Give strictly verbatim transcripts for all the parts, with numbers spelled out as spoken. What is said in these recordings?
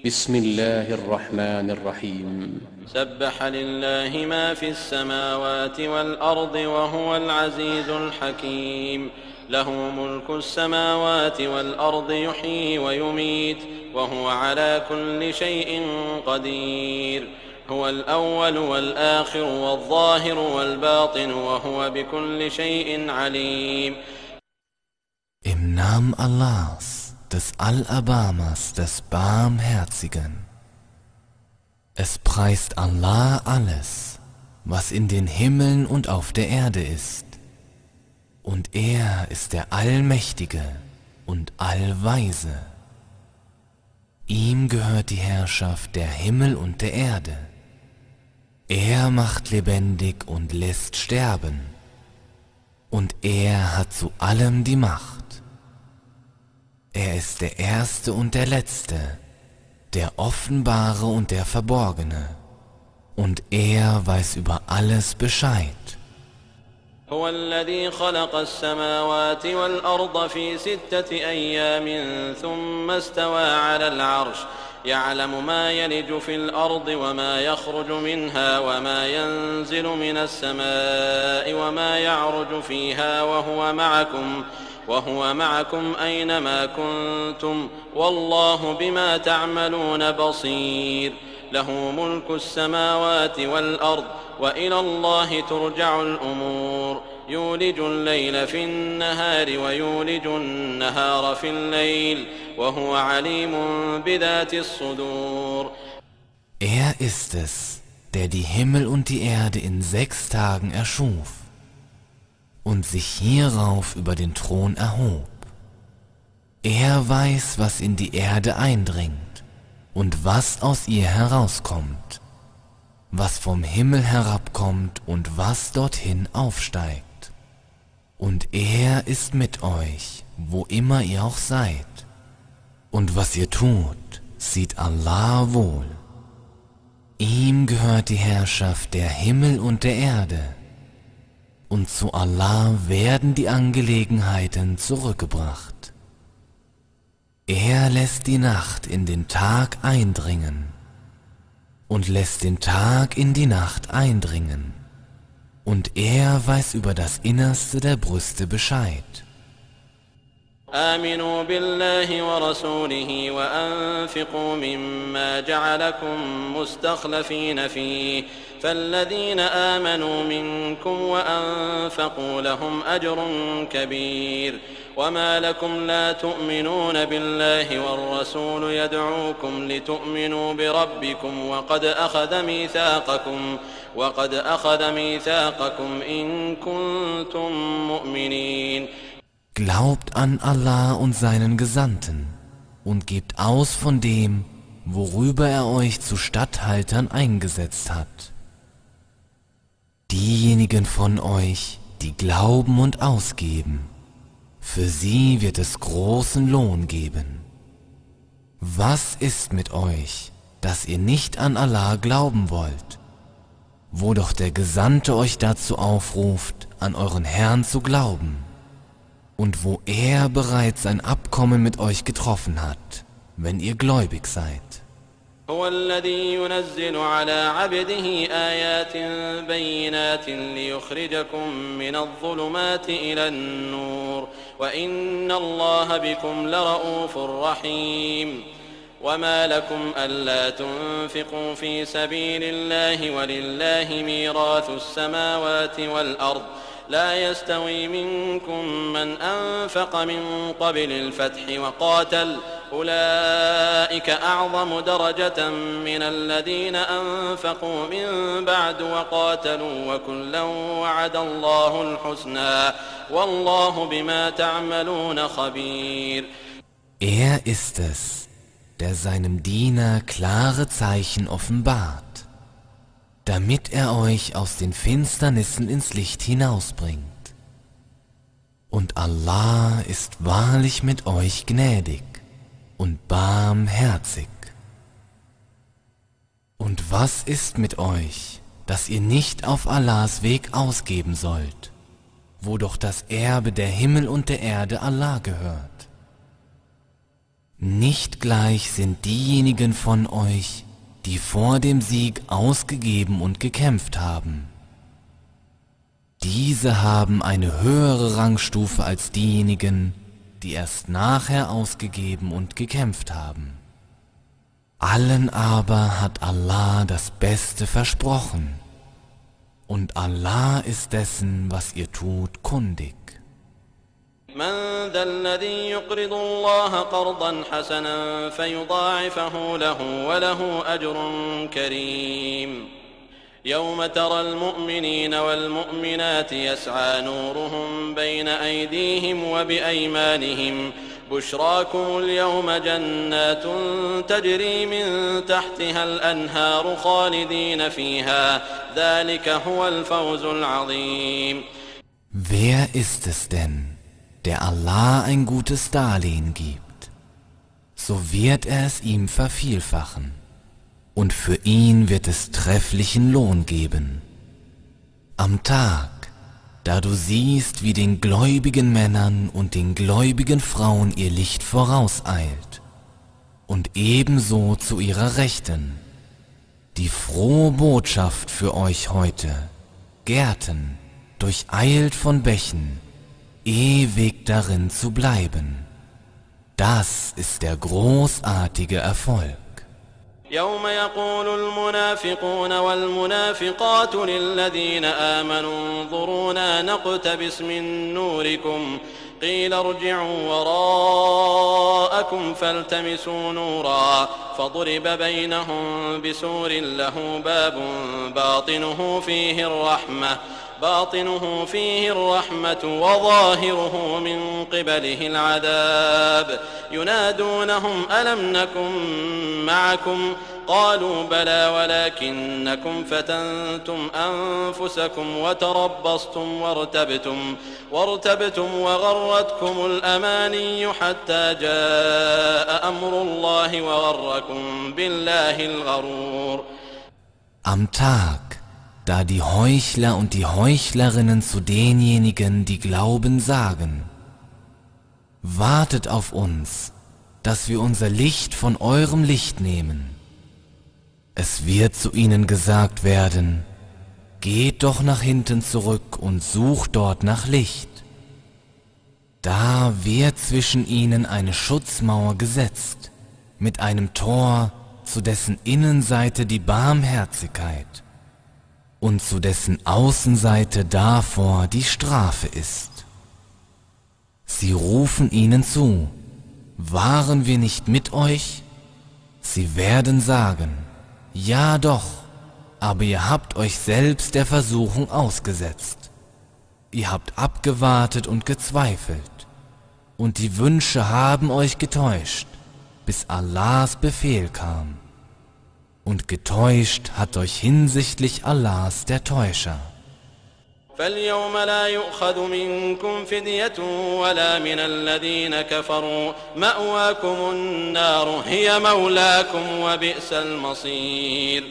بسم الله الرحمن الرحيم سبح لله ما في السماوات والأرض وهو العزيز الحكيم له ملك السماوات والأرض يحيي ويميت وهو على كل شيء قدير هو الأول والآخر والظاهر والباطن وهو بكل شيء عليم. Im Namen Allahs, des Allerbarmers, des Barmherzigen. Es preist Allah alles, was in den Himmeln und auf der Erde ist. Und er ist der Allmächtige und Allweise. Ihm gehört die Herrschaft der Himmel und der Erde. Er macht lebendig und lässt sterben. Und er hat zu allem die Macht. Er ist der Erste und der Letzte, der Offenbare und der Verborgene, und er weiß über alles Bescheid. هو الذي خلق السماوات والأرض في ستة أيام ثم استوى على العرش يعلم ما يلج في الأرض وما يخرج منها وما ينزل من السماء وما يعرج فيها وهو معكم وهو معكم أينما كنتم والله بما تعملون بصير له ملك السماوات والأرض وإلى الله ترجع الأمور يولج الليل في النهار ويولج النهار في الليل وهو عليم بذات الصدور. Er ist es, der die Himmel und die Erde in sechs Tagen erschuf und sich hierauf über den Thron erhob. Er weiß, was in die Erde eindringt und was aus ihr herauskommt, was vom Himmel herabkommt und was dorthin aufsteigt. Und er ist mit euch, wo immer ihr auch seid. Und was ihr tut, sieht Allah wohl. Ihm gehört die Herrschaft der Himmel und der Erde. Und zu Allah werden die Angelegenheiten zurückgebracht. Er lässt die Nacht in den Tag eindringen und lässt den Tag in die Nacht eindringen. Und er weiß über das Innerste der Brüste Bescheid. آمنوا بالله ورسوله وأنفقوا مما جعلكم مستخلفين فيه فالذين آمنوا منكم وأنفقوا لهم أجر كبير وما لكم لا تؤمنون بالله والرسول يدعوكم لتؤمنوا بربكم وقد أخذ ميثاقكم وقد أخذ ميثاقكم إن كنتم مؤمنين. Glaubt an Allah und seinen Gesandten und gebt aus von dem, worüber er euch zu Statthaltern eingesetzt hat. Diejenigen von euch, die glauben und ausgeben, für sie wird es großen Lohn geben. Was ist mit euch, dass ihr nicht an Allah glauben wollt, wo doch der Gesandte euch dazu aufruft, an euren Herrn zu glauben? Und wo er bereits ein Abkommen mit euch getroffen hat, wenn ihr gläubig seid. هو الذي ينزل على عبده آيات بينات ليخرجكم من الظلمات إلى النور وإن الله بكم لرؤوف رحيم. وما لكم ألا تنفقوا في سبيل الله ولله ميراث السماوات والأرض لا يستوي منكم من أنفق من قبل الفتح وقاتل أولئك أعظم درجة من الذين أنفقوا من بعد وقاتلوا وكلا وعد الله الحسنى والله بما تعملون خبير. Er ist es, der seinem Diener klare Zeichen offenbart, damit er euch aus den Finsternissen ins Licht hinausbringt. Und Allah ist wahrlich mit euch gnädig und barmherzig. Und was ist mit euch, dass ihr nicht auf Allahs Weg ausgeben sollt, wo doch das Erbe der Himmel und der Erde Allah gehört? Nicht gleich sind diejenigen von euch, die vor dem Sieg ausgegeben und gekämpft haben. Diese haben eine höhere Rangstufe als diejenigen, die erst nachher ausgegeben und gekämpft haben. Allen aber hat Allah das Beste versprochen, und Allah ist dessen, was ihr tut, kundig. من ذا الذي يقرض الله قرضا حسنا فيضاعفه له وله أجر كريم يوم ترى المؤمنين والمؤمنات يسعى نورهم بين أيديهم وبأيمانهم بشراكم اليوم جنات تجري من تحتها الأنهار خالدين فيها ذلك هو الفوز العظيم. Wer ist es denn, der Allah ein gutes Darlehen gibt? So wird er es ihm vervielfachen, und für ihn wird es trefflichen Lohn geben. Am Tag, da du siehst, wie den gläubigen Männern und den gläubigen Frauen ihr Licht vorauseilt, und ebenso zu ihrer Rechten, die frohe Botschaft für euch heute, Gärten, durcheilt von Bächen, ewig darin zu bleiben. Das ist der großartige Erfolg. يوم يقول المنافقون والمنافقات للذين آمنوا انظرونا نقتبس من نوركم قيل ارجعوا وراءكم فالتمسوا نورا فضرب بينهم بسور له باب باطنه فيه الرحمة باطنه فيه الرحمة وظاهره من قبله العذاب ينادونهم ألم نكن معكم قالوا بلى ولكنكم فتنتم أنفسكم وتربصتم وارتبتم وارتبتم وغرتكم الأماني حتى جاء أمر الله وغركم بالله الغرور. Am Tag, da die Heuchler und die Heuchlerinnen zu denjenigen, die glauben, sagen: Wartet auf uns, dass wir unser Licht von eurem Licht nehmen. Es wird zu ihnen gesagt werden: Geht doch nach hinten zurück und sucht dort nach Licht. Da wird zwischen ihnen eine Schutzmauer gesetzt, mit einem Tor, zu dessen Innenseite die Barmherzigkeit und zu dessen Außenseite davor die Strafe ist. Sie rufen ihnen zu: Waren wir nicht mit euch? Sie werden sagen: Ja doch, aber ihr habt euch selbst der Versuchung ausgesetzt. Ihr habt abgewartet und gezweifelt, und die Wünsche haben euch getäuscht, bis Allahs Befehl kam. Und getäuscht hat euch hinsichtlich Allahs der Täuscher. فاليوم لا يؤخذ منكم فدية ولا من الذين كفروا مأواكم النار هي مولاكم وبئس المصير.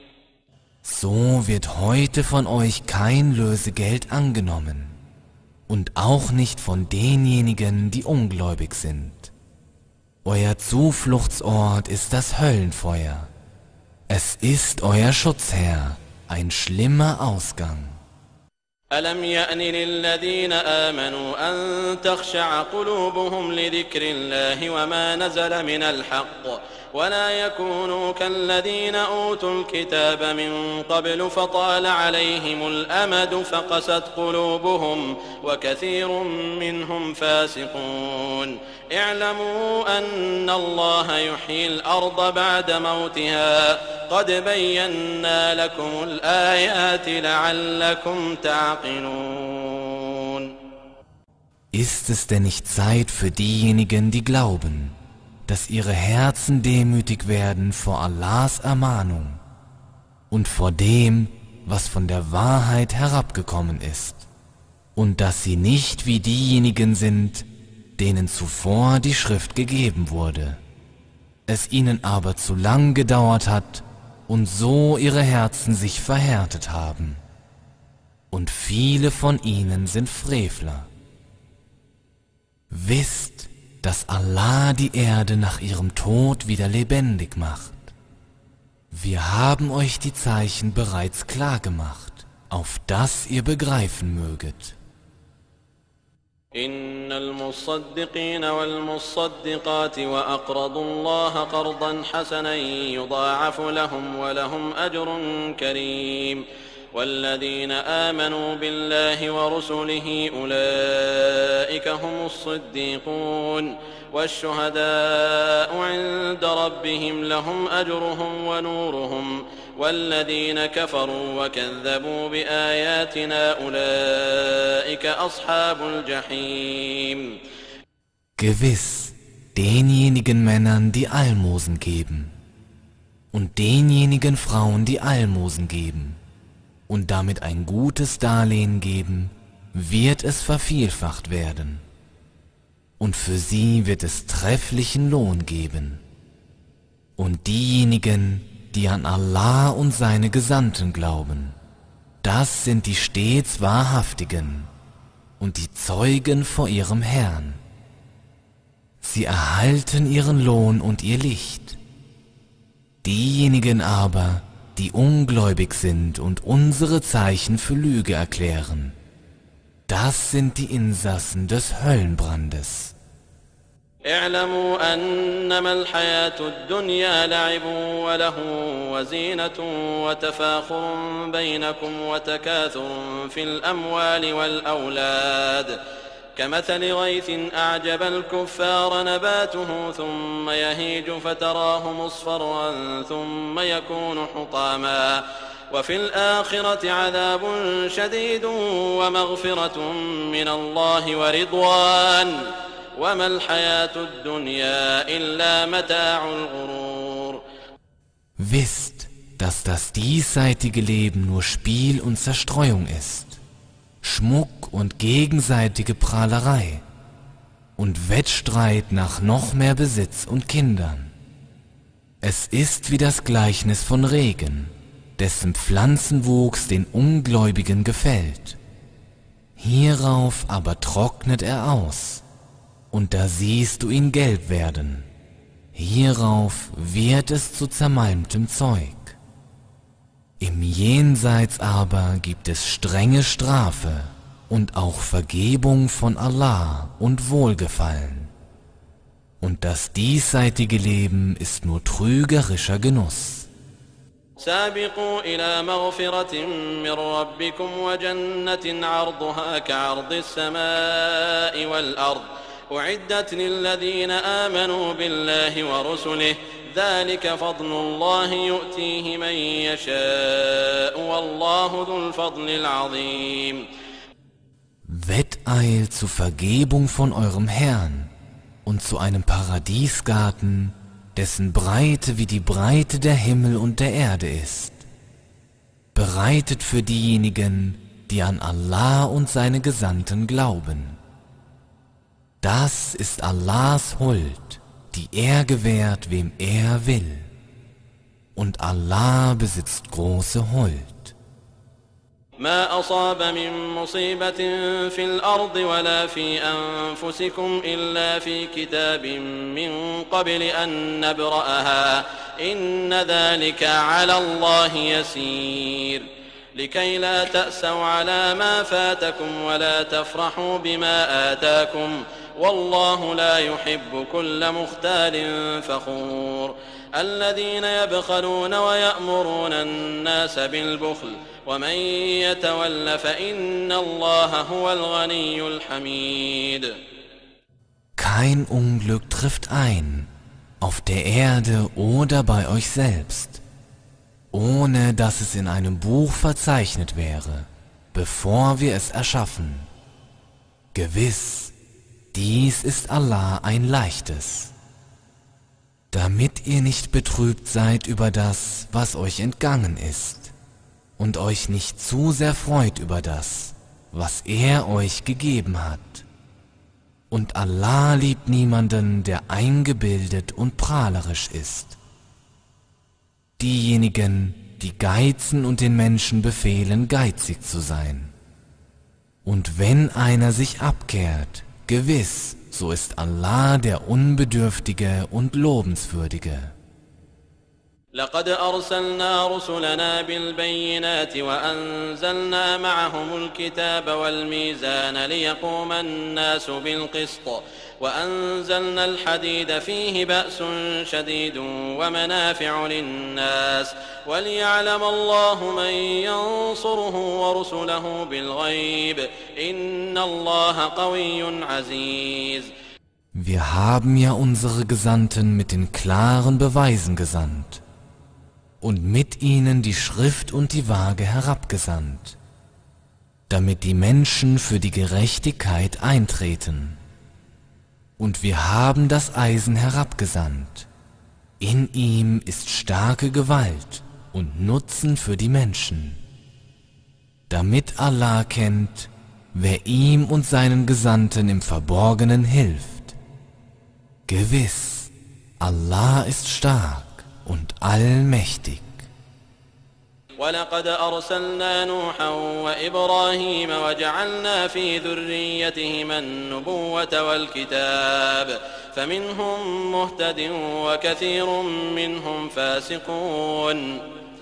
So wird heute von euch kein Lösegeld angenommen und auch nicht von denjenigen, die ungläubig sind. Euer Zufluchtsort ist das Höllenfeuer. Es ist euer Schutzherr, ein schlimmer Ausgang. ألم يأن للذين آمنوا أن تخشع قلوبهم لذكر الله وما نزل من الحق ولا يكونوا كالذين أوتوا الكتاب من قبل فطال عليهم الأمد فقست قلوبهم وكثير منهم فاسقون اعلموا أن الله يحيي الأرض بعد موتها قد بينا لكم الآيات لعلكم تعقلون. Ist es denn nicht Zeit für diejenigen, die glauben, dass ihre Herzen demütig werden vor Allahs Ermahnung und vor dem, was von der Wahrheit herabgekommen ist, und dass sie nicht wie diejenigen sind, denen zuvor die Schrift gegeben wurde, es ihnen aber zu lang gedauert hat und so ihre Herzen sich verhärtet haben, und viele von ihnen sind Frevler. Wisst, dass Allah die Erde nach ihrem Tod wieder lebendig macht. Wir haben euch die Zeichen bereits klar gemacht, auf dass ihr begreifen möget. إن المصدقين والمصدقات وأقرضوا الله قرضا حسنا يضاعف لهم ولهم أجر كريم والذين آمنوا بالله ورسله أولئك هم الصديقون والشهداء عند ربهم لهم أجرهم ونورهم والذين كفروا وكذبوا بآياتنا أولئك أصحاب الجحيم. Gewiss, denjenigen Männern, die Almosen geben, und denjenigen Frauen, die Almosen geben, und damit ein gutes Darlehen geben, wird es vervielfacht werden. Und für sie wird es trefflichen Lohn geben. Und diejenigen, die an Allah und seine Gesandten glauben, das sind die stets Wahrhaftigen und die Zeugen vor ihrem Herrn. Sie erhalten ihren Lohn und ihr Licht. Diejenigen aber, die ungläubig sind und unsere Zeichen für Lüge erklären, das sind die Insassen des Höllenbrandes. اعلموا أنما الحياة الدنيا لعب وله وزينة وتفاخر بينكم وتكاثر في الأموال والأولاد كمثل غيث أعجب الكفار نباته ثم يهيج فتراه مصفرا ثم يكون حطاما وفي الآخرة عذاب شديد ومغفرة من الله ورضوان وما الحياة الدنيا إلا متاع الغرور. Wisst, dass das diesseitige Leben nur Spiel und Zerstreuung ist, Schmuck und gegenseitige Prahlerei und Wettstreit nach noch mehr Besitz und Kindern. Es ist wie das Gleichnis von Regen, dessen Pflanzenwuchs den Ungläubigen gefällt. Hierauf aber trocknet er aus, und da siehst du ihn gelb werden. Hierauf wird es zu zermalmtem Zeug. Im Jenseits aber gibt es strenge Strafe und auch Vergebung von Allah und Wohlgefallen. Und das diesseitige Leben ist nur trügerischer Genuss. سابقوا إلى مغفرة من ربكم وجنة عرضها كعرض السماء والأرض أعدت للذين آمنوا بالله ورسله ذلك فضل الله يؤتيه من يشاء والله ذو الفضل العظيم. Wetteilt zur Vergebung von eurem Herrn und zu einem Paradiesgarten, dessen Breite wie die Breite der Himmel und der Erde ist, bereitet für diejenigen, die an Allah und seine Gesandten glauben. Das ist Allahs Huld, die er gewährt, wem er will. Und Allah besitzt große Huld. ما أصاب من مصيبة في الأرض ولا في أنفسكم إلا في كتاب من قبل أن نبرأها إن ذلك على الله يسير لكي لا تأسوا على ما فاتكم ولا تفرحوا بما آتاكم والله لا يحب كل مختال فخور الذين يبخلون ويأمرون الناس بالبخل ومن يتول فإن الله هو الغني الحميد. Kein Unglück trifft ein, auf der Erde oder bei euch selbst, ohne dass es in einem Buch verzeichnet wäre, bevor wir es erschaffen. Gewiss, dies ist Allah ein Leichtes. Damit ihr nicht betrübt seid über das, was euch entgangen ist, und euch nicht zu sehr freut über das, was er euch gegeben hat. Und Allah liebt niemanden, der eingebildet und prahlerisch ist. Diejenigen, die geizen und den Menschen befehlen, geizig zu sein. Und wenn einer sich abkehrt, gewiss, so ist Allah der Unbedürftige und Lobenswürdige. لقد أرسلنا رسلنا بالبينات وأنزلنا معهم الكتاب والميزان ليقوم الناس بالقسط وأنزلنا الحديد فيه بأس شديد ومنافع للناس وليعلم الله من ينصره ورسله بالغيب إن الله قوي عزيز. Wir haben ja unsere Gesandten mit den klaren Beweisen gesandt und mit ihnen die Schrift und die Waage herabgesandt, damit die Menschen für die Gerechtigkeit eintreten. Und wir haben das Eisen herabgesandt. In ihm ist starke Gewalt und Nutzen für die Menschen, damit Allah kennt, wer ihm und seinen Gesandten im Verborgenen hilft. Gewiss, Allah ist stark und allmächtig. ولقد أرسلنا نوحا وإبراهيم وجعلنا في ذريتهما النبوة والكتاب فمنهم مهتد وكثير منهم فاسقون.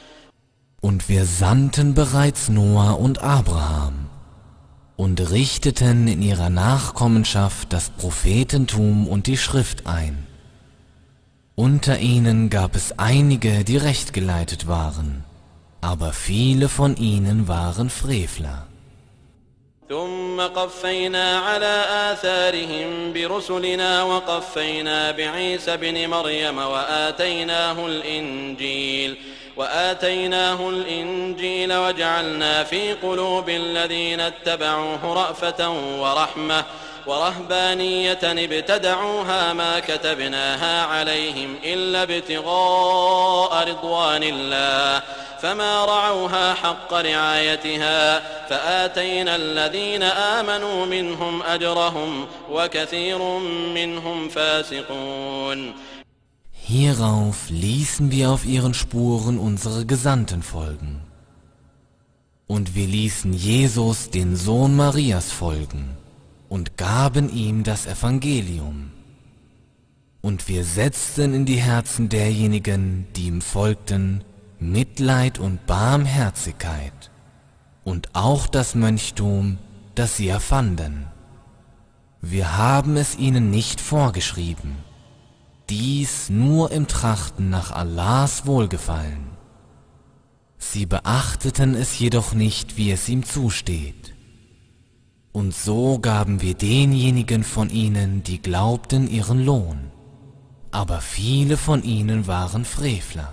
Und wir sandten bereits Noah und Abraham und richteten in ihrer Nachkommenschaft das Prophetentum und die Schrift ein. Unter ihnen gab es einige, die rechtgeleitet waren, aber viele von ihnen waren Frevler. ثم قفينا على آثارهم برسلنا وقفينا بعيسى ابن مريم وآتيناه الإنجيل وآتيناه الإنجيل وجعلنا في قلوب الذين اتبعوه رأفة ورحمة ورهبانية ابتدعوها ما كتبناها عليهم إلا ابتغاء رضوان الله فما رعوها حق رعايتها فآتينا الذين آمنوا منهم أجرهم وكثير منهم فاسقون. Hierauf ließen wir auf ihren Spuren unsere Gesandten folgen. Und wir ließen Jesus, den Sohn Marias, folgen und gaben ihm das Evangelium. Und wir setzten in die Herzen derjenigen, die ihm folgten, Mitleid und Barmherzigkeit und auch das Mönchtum, das sie erfanden. Wir haben es ihnen nicht vorgeschrieben, dies nur im Trachten nach Allahs Wohlgefallen. Sie beachteten es jedoch nicht, wie es ihm zusteht. Und so gaben wir denjenigen von ihnen, die glaubten, ihren Lohn, aber viele von ihnen waren Frevler.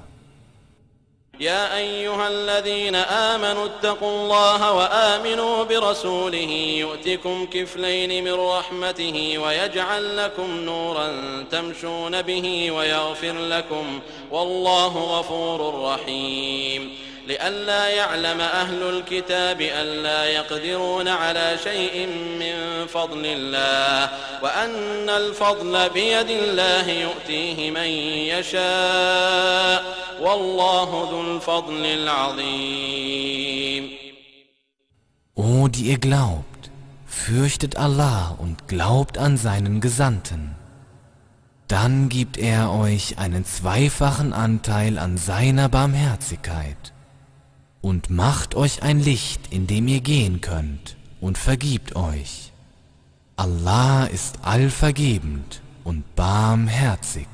يا أيها الذين آمنوا اتقوا الله وآمنوا برسوله يؤتكم كفلين من رحمته ويجعل لكم نورا تمشون به ويغفر لكم والله غفور رحيم. لئلا يعلم أهل الكتاب ألا يقدرون على شيء من فضل الله وأن الفضل بيد الله يؤتيه من يشاء والله ذو الفضل العظيم. O, die ihr glaubt, fürchtet Allah und glaubt an seinen Gesandten. Dann gibt er euch einen zweifachen Anteil an seiner Barmherzigkeit und macht euch ein Licht, in dem ihr gehen könnt, und vergibt euch. Allah ist allvergebend und barmherzig.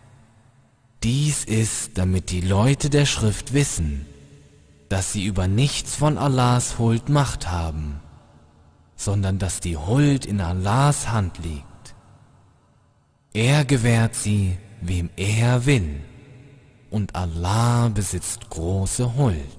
Dies ist, damit die Leute der Schrift wissen, dass sie über nichts von Allahs Huld Macht haben, sondern dass die Huld in Allahs Hand liegt. Er gewährt sie, wem er will, und Allah besitzt große Huld.